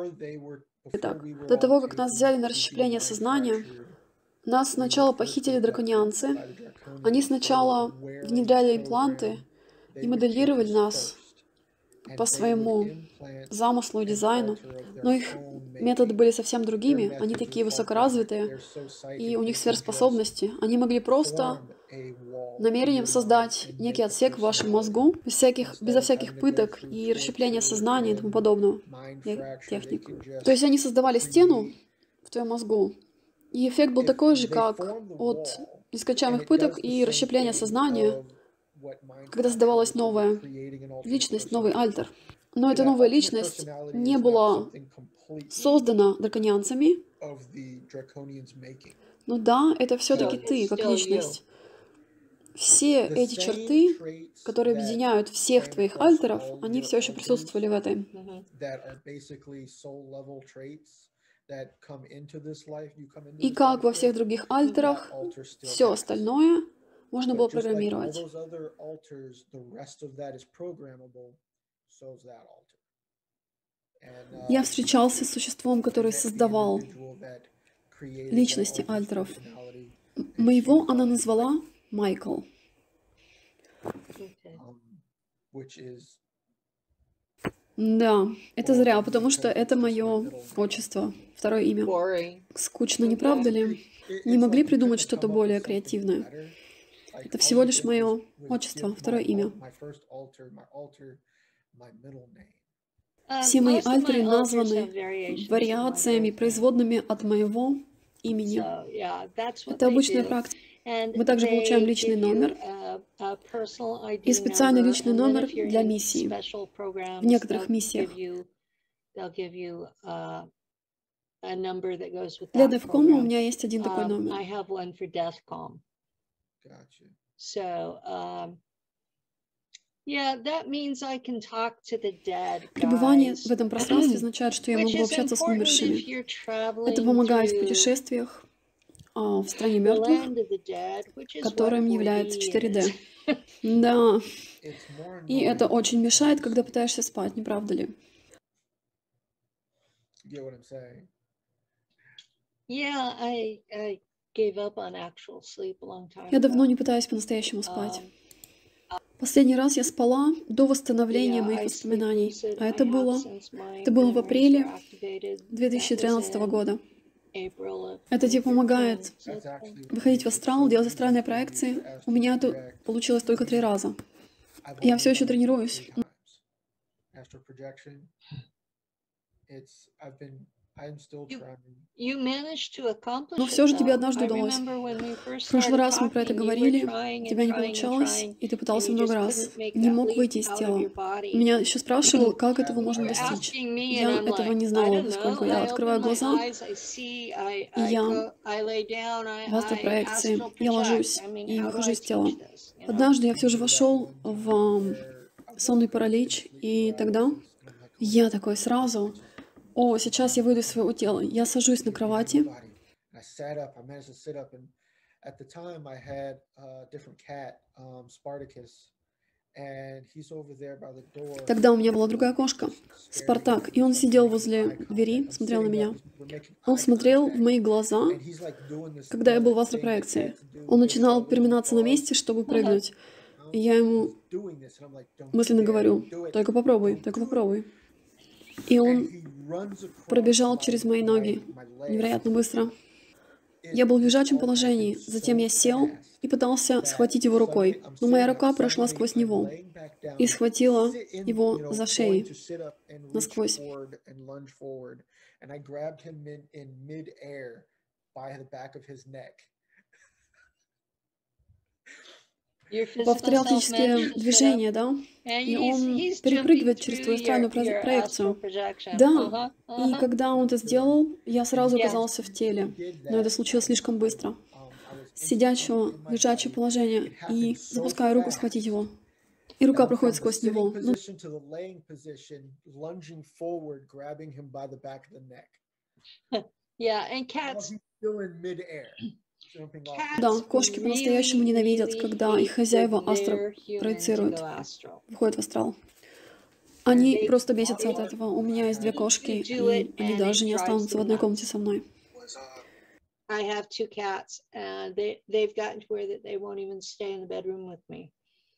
Итак, до того, как нас взяли на расщепление сознания, нас сначала похитили драконианцы. Они сначала внедряли импланты и моделировали нас по своему замыслу и дизайну, но их методы были совсем другими. Они такие высокоразвитые, и у них сверхспособности. Они могли просто намерением создать некий отсек в вашем мозгу, безо всяких пыток и расщепления сознания и тому подобного техник. То есть они создавали стену в твоем мозгу, и эффект был такой же, как от нескончаемых пыток и расщепления сознания, когда создавалась новая личность, новый альтер. Но эта новая личность не была создана драконианцами. Но да, это все-таки ты, как личность. Все эти черты, которые объединяют всех твоих альтеров, они все еще присутствовали в этой. И как во всех других альтерах, все остальное можно было программировать. Я встречался с существом, который создавал личности альтеров. Моего она назвала Майкл. Да, это зря, потому что это мое отчество, второе имя. Скучно, не правда ли? Не могли придумать что-то более креативное? Это всего лишь мое отчество, второе имя. Все мои альтеры названы вариациями, производными от моего имени. Это обычная практика. Мы также получаем личный номер и специальный личный номер для миссии. В некоторых миссиях. Для DEFCON у меня есть один такой номер. Пребывание в этом пространстве означает, что я могу общаться с умершими. Это помогает в путешествиях в стране мертвых, которым является 4D. Да. И это очень мешает, когда пытаешься спать, не правда ли? Я давно не пытаюсь по-настоящему спать. Последний раз я спала до восстановления моих воспоминаний, а это было в апреле 2013 года. Это типа помогает выходить в астрал, делать астральные проекции. У меня это получилось только 3 раза. Я все еще тренируюсь. Но все же тебе однажды удалось. В прошлый раз мы про это говорили, у тебя не получалось, и ты пытался много раз. Не мог выйти из тела. Меня еще спрашивал, как этого можно достичь. Я этого не знала, поскольку я открываю глаза, и я в астропроекции, я ложусь и выхожу из тела. Однажды я все же вошел в сонный паралич, и тогда я такой сразу... О, сейчас я выйду из своего тела. Я сажусь на кровати. Тогда у меня была другая кошка, Спартак, и он сидел возле двери, смотрел на меня. Он смотрел в мои глаза, когда я был в астропроекции. Он начинал переминаться на месте, чтобы прыгнуть. И я ему мысленно говорю, только попробуй, только попробуй. И он пробежал через мои ноги невероятно быстро. Я был в лежачем положении, затем я сел и пытался схватить его рукой, но моя рука прошла сквозь него и схватила его за шею насквозь. Повторял физические движения, да? И он перепрыгивает через твою астральную проекцию. Да. И когда он это сделал, я сразу оказался в теле. Но это случилось слишком быстро. С сидячего, лежачего положения. И запускаю руку схватить его. И рука проходит сквозь него. Да, кошки по-настоящему ненавидят, когда их хозяева астро проецируют, выходят в астрал. Они просто бесятся от этого. У меня есть 2 кошки, и они даже не останутся в одной комнате со мной. I have 2 cats, and they've gotten to where that they won't even stay in the bedroom with me.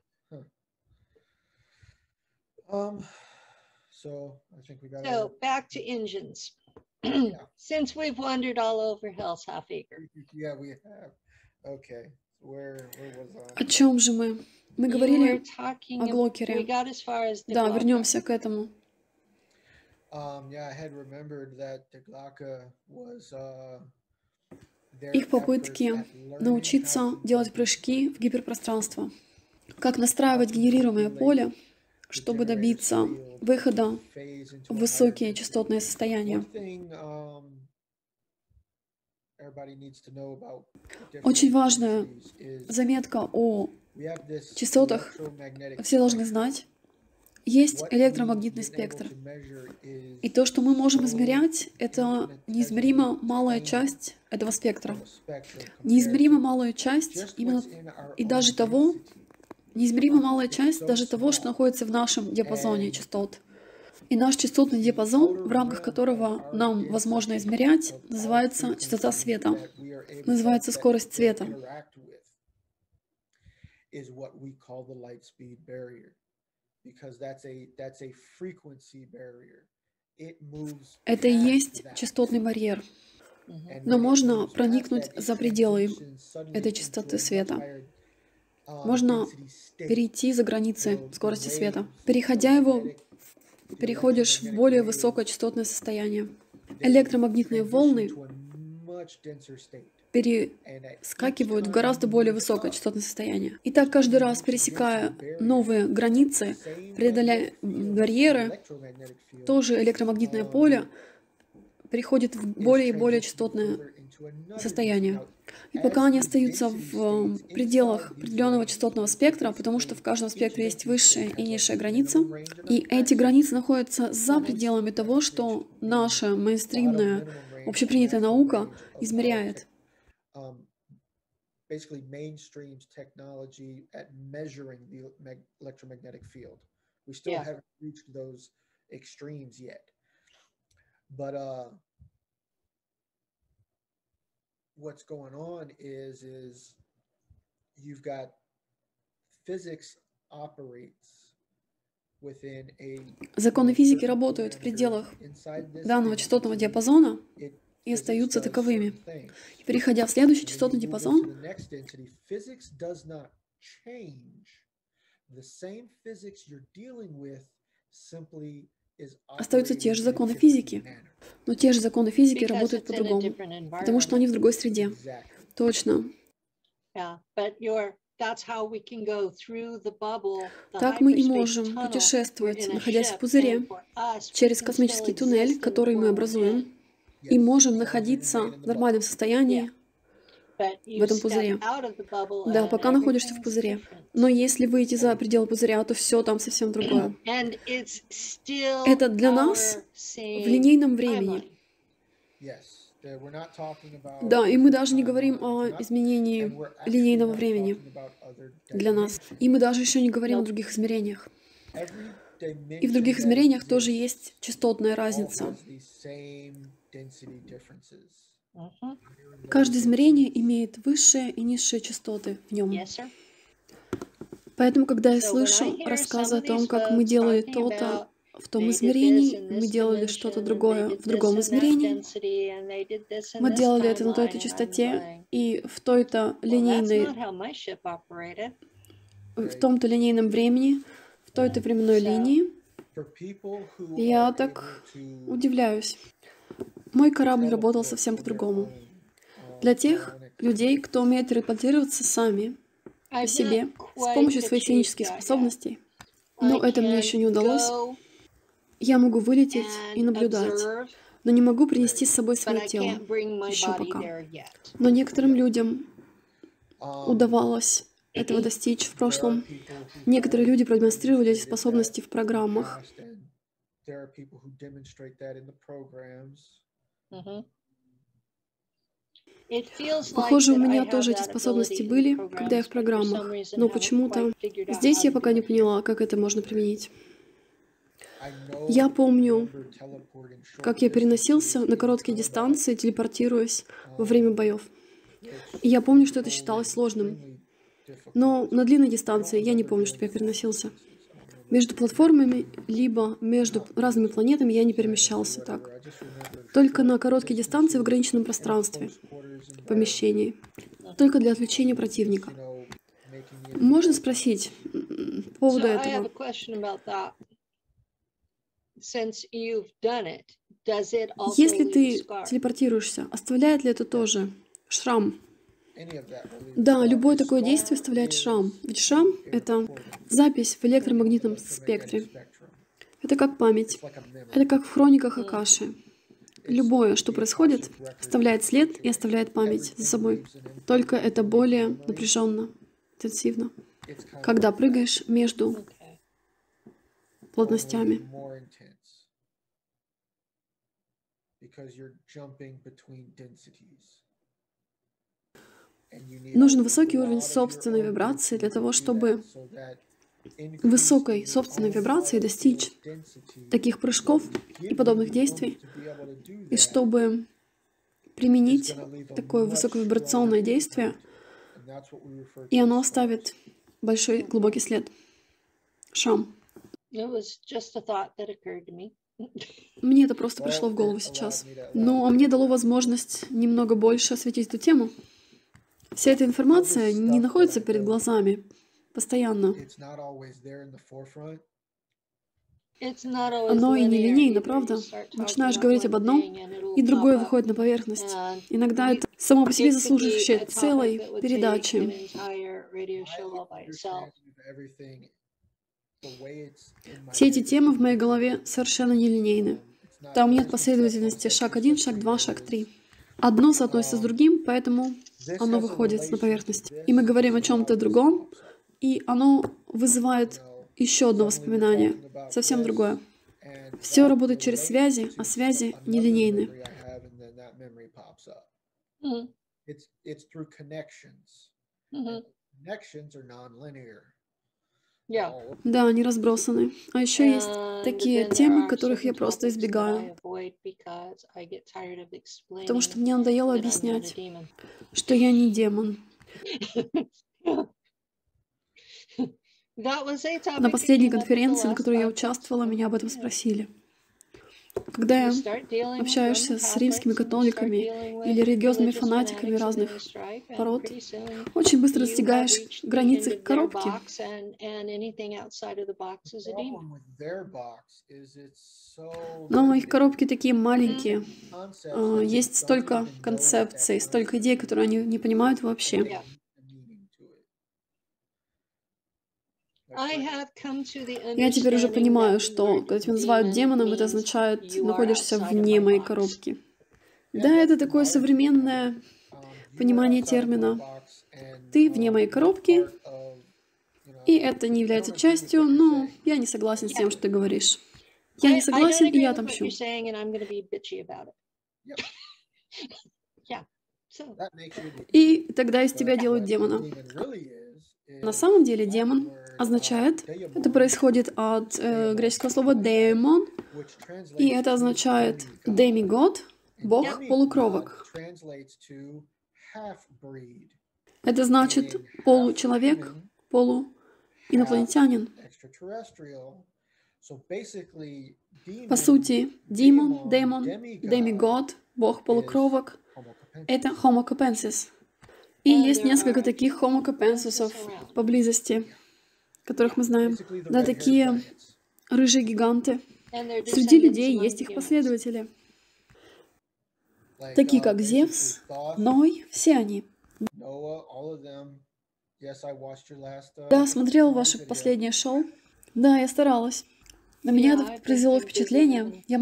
So I think we got. So back to engines. Since we've wandered all over Hell's Half Acre. Yeah, we have. Okay, where was О чем же мы? Мы говорили о Глокере. We got as far as the Да, Glocka. вернемся к этому. Yeah, I had remembered that the Glocka was Их попытки научиться делать прыжки в гиперпространство. Как настраивать генерируемое поле, чтобы добиться выхода в высокие частотные состояния. Очень важная заметка о частотах, все должны знать. Есть электромагнитный спектр. И то, что мы можем измерять, это неизмеримо малая часть этого спектра. Неизмеримо малая часть именно и даже того, неизмеримо малая часть даже того, что находится в нашем диапазоне частот. И наш частотный диапазон, в рамках которого нам возможно измерять, называется частота света, называется скорость света. Это и есть частотный барьер. Но можно проникнуть за пределы этой частоты света. Можно перейти за границы скорости света. Переходя его, переходишь в более высокочастотное состояние. Электромагнитные волны перескакивают в гораздо более высокочастотное состояние. И так каждый раз, пересекая новые границы, преодоляя барьеры, тоже электромагнитное поле переходит в более и более частотное состояние. И пока они остаются в пределах определенного частотного спектра, потому что в каждом спектре есть высшая и низшая граница, и эти границы находятся за пределами того, что наша мейнстримная, общепринятая наука измеряет. What's going on is you've got physics operates within a. Законы физики работают в пределах данного частотного диапазона и остаются таковыми. И переходя в следующий частотный диапазон, остаются те же законы физики. Но те же законы физики работают по-другому, потому что они в другой среде. Точно. Так мы и можем путешествовать, находясь в пузыре, через космический туннель, который мы образуем, и можем находиться в нормальном состоянии в этом пузыре. Да, пока находишься в пузыре. Но если выйти за пределы пузыря, то все там совсем другое. Это для нас в линейном времени. Да, и мы даже не говорим о изменении линейного времени для нас. И мы даже еще не говорим о других измерениях. И в других измерениях тоже есть частотная разница. Каждое измерение имеет высшие и низшие частоты в нем. Поэтому, когда я слышу рассказы о том, как мы делали то-то в том измерении, мы делали что-то другое в другом измерении, мы делали это на той-то частоте и в той-то линейной, в том-то линейном времени, в той-то временной линии, я так удивляюсь. Мой корабль работал совсем по-другому. Для тех людей, кто умеет телепортироваться сами, по себе, с помощью своих физических способностей, но это мне еще не удалось, я могу вылететь и наблюдать, но не могу принести с собой свое тело еще пока. Но некоторым людям удавалось этого достичь в прошлом. Некоторые люди продемонстрировали эти способности в программах. Похоже, у меня тоже эти способности были, когда я в программах, но почему-то здесь я пока не поняла, как это можно применить. Я помню, как я переносился на короткие дистанции, телепортируясь во время боев. И я помню, что это считалось сложным. Но на длинной дистанции я не помню, чтобы я переносился. Между платформами, либо между разными планетами я не перемещался так. Только на короткие дистанции в ограниченном пространстве, в помещении. Только для отвлечения противника. Можно спросить по поводу So I have a этого? question about that. Since you've done it, does it also Если leave a ты scar? телепортируешься, оставляет ли это тоже шрам? Да, любое такое действие оставляет шрам. Ведь шрам — это запись в электромагнитном спектре. Это как память. Это как в хрониках Акаши. Любое, что происходит, оставляет след и оставляет память за собой. Только это более напряженно, интенсивно. Когда прыгаешь между Okay. плотностями. Нужен высокий уровень собственной вибрации для того, чтобы высокой собственной вибрации достичь таких прыжков и подобных действий, и чтобы применить такое высоковибрационное действие, и оно оставит большой глубокий след. Шрам. It was just a thought that occurred to me. Мне это просто пришло в голову сейчас. Но мне дало возможность немного больше осветить эту тему. Вся эта информация не находится перед глазами постоянно. It's not always Оно и linear нелинейно, either. правда? You start talking Начинаешь about говорить one об одном, thing and it'll и другое pop up. выходит на поверхность. And Иногда you- это само по себе it could be заслуживающее a topic целой that would take an передачи. entire radio show all by itself. Все эти темы в моей голове совершенно нелинейны. Там нет последовательности шаг 1, шаг 2, шаг 3. Одно соотносится с другим, поэтому оно выходит на поверхность. И мы говорим о чем-то другом, и оно вызывает еще одно воспоминание, совсем другое. Все работает через связи, а связи нелинейны. Mhm, It's through connections. mhm. Connections are non-linear. Yeah. Да, они разбросаны. А еще есть And такие then there темы, are которых я certain просто topics that I избегаю, avoid because I get tired of потому что explaining мне надоело that I'm not a объяснять, demon. что я не демон. That was a topic На that последней came up at the конференции, на last которой я conference. участвовала, меня об этом спросили. Когда You я start dealing with общаешься Roman с римскими Catholics, and you start католиками dealing with или религиозными religious фанатиками fanatics in разных the stripe, and пород, pretty soon очень быстро you have достигаешь reached the границ end их of their коробки. box, and anything outside of the box is a demon. Problem with their box is it's so Но их limited. коробки такие маленькие. Concepts that they Есть don't столько even know концепций, that столько идей, которые они не понимают вообще. Yeah. meaning to it. I have come to the Я теперь уже understanding понимаю, that the что word когда тебя называют demon демоном, это means означает, you are находишься outside of вне my моей box. коробки. Да, это такое современное понимание термина. Ты вне моей коробки, и это не является частью, но я не согласен с тем, что ты говоришь. Я не I согласен, don't и я agree with what отомщу. you're saying, and I'm going to be bitchy about it. Yep. Yeah. So That makes you the И тогда из тебя делают демона. demon really На самом деле демон означает, это происходит от греческого слова «демон», which translates и это означает «демигод», бог полукровок. translates to half-breed, Это значит получеловек, полуинопланетянин. extraterrestrial. So basically, demon, По сути, демон, demon, демигод, бог полукровок homo capensis. — это Homo capensis. И есть несколько таких Homo capensis'ов поблизости, которых мы знаем. Basically the Да, red-haired такие giants. рыжие гиганты. and they're Среди descendants людей among есть их humans. последователи, Like, такие как basically Зевс, Thoth, Ной, все они. Noah, all of them. Yes, I watched your last, Да, смотрел ваше video. последнее шоу. Да, я старалась. На меня Yeah, это I've been произвело so busy впечатление. living. Я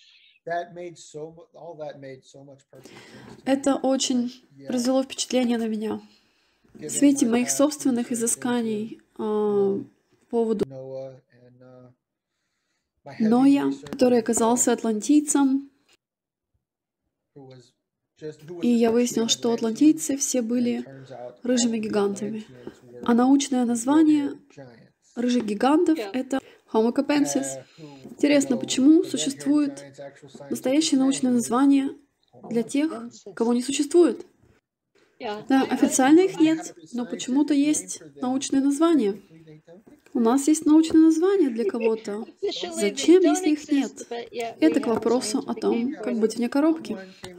All that made so much perfect sense to me. Это очень Yeah, произвело впечатление на меня. В given свете my моих past собственных research изысканий по поводу into Noah and my heavy Ноя, research который into оказался Thoth, атлантийцем, who was и я essentially выяснил, an что Atlantean, атлантийцы все and it были turns out рыжими all of the гигантами. Atlanteans were А научное название red-haired giants. рыжих гигантов Yeah. — это Homo capensis. Интересно, почему существует настоящее научное название для тех, кого не существует? Да, официально их нет, но почему-то есть научное название. У нас есть научное название для кого-то. Зачем, если их нет? Это к вопросу о том, как быть вне коробки.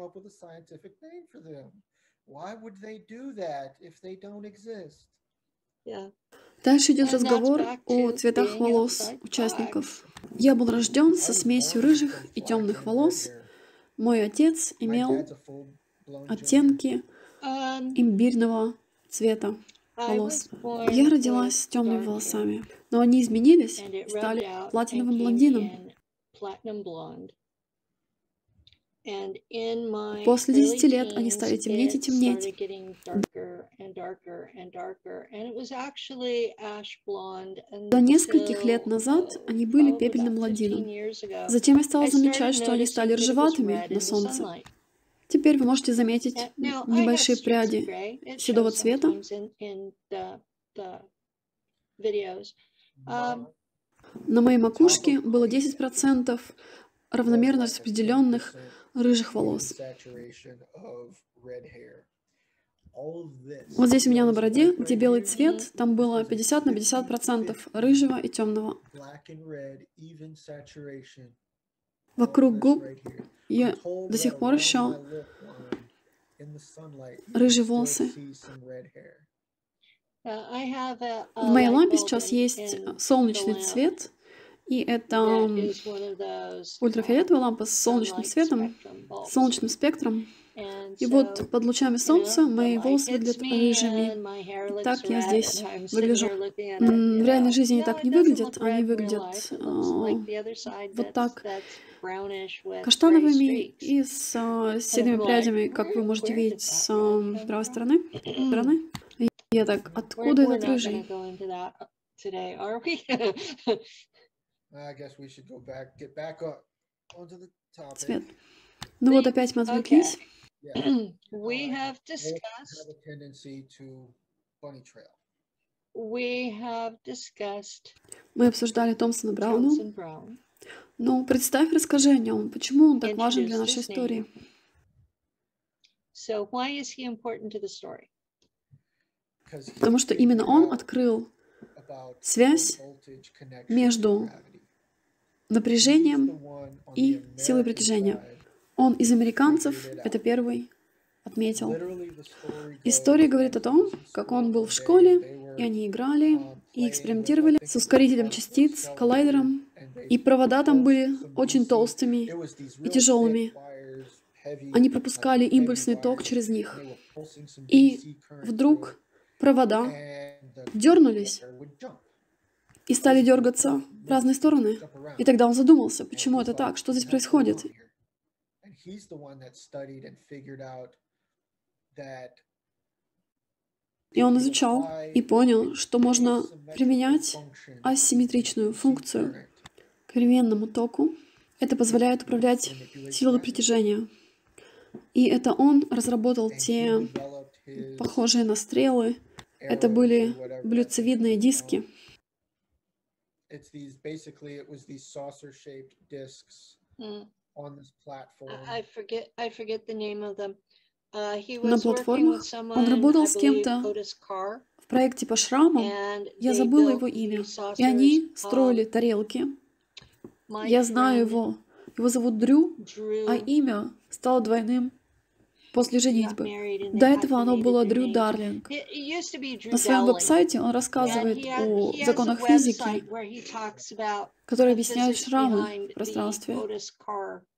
Дальше идет разговор о цветах волос участников. Я был рожден со смесью рыжих и темных волос. Мой отец имел оттенки имбирного цвета волос. Я родилась с темными волосами, но они изменились и стали платиновым блондином. После 10 лет они стали темнеть и темнеть. До нескольких лет назад они были пепельным блондином. Затем я стала замечать, что они стали рыжеватыми на солнце. Теперь вы можете заметить небольшие пряди седого цвета. На моей макушке было 10% равномерно распределенных рыжих волос. Вот здесь у меня на бороде, где белый цвет, там было 50 на 50% рыжего и темного. Вокруг губ я до сих пор еще рыжие волосы. В моей лампе сейчас есть солнечный цвет, и это ультрафиолетовая лампа с солнечным светом, солнечным спектром. И вот под лучами солнца мои волосы выглядят рыжими. И так я здесь выгляжу. В реальной жизни они так не выглядят. Они выглядят вот так, каштановыми и с седыми прядями, как вы можете видеть с правой стороны. И я так, откуда этот рыжий? Цвет. Ну вот опять мы отвлеклись. Мы обсуждали Томпсона Брауна. Ну, представь, расскажи о нем. Почему он так важен для нашей истории? Потому что именно он открыл связь между напряжением и силой притяжения. Он из американцев, это первый, отметил. История говорит о том, как он был в школе, и они играли, и экспериментировали с ускорителем частиц, коллайдером, и провода там были очень толстыми и тяжелыми. Они пропускали импульсный ток через них. И вдруг провода дернулись и стали дергаться в разные стороны. И тогда он задумался, почему это так, что здесь происходит. И он изучал и понял, что можно применять асимметричную функцию к переменному току. Это позволяет управлять силой притяжения. И это он разработал те похожие на стрелы. Это были блюдцевидные диски. На платформах он работал с кем-то в проекте по шрамам. Я забыла его имя. И они строили тарелки. Я знаю его. Его зовут Дрю, а имя стало двойным после женитьбы. До этого оно было Дрю Дарлинг. На своем веб-сайте он рассказывает о законах физики, которые объясняют шрамы в пространстве.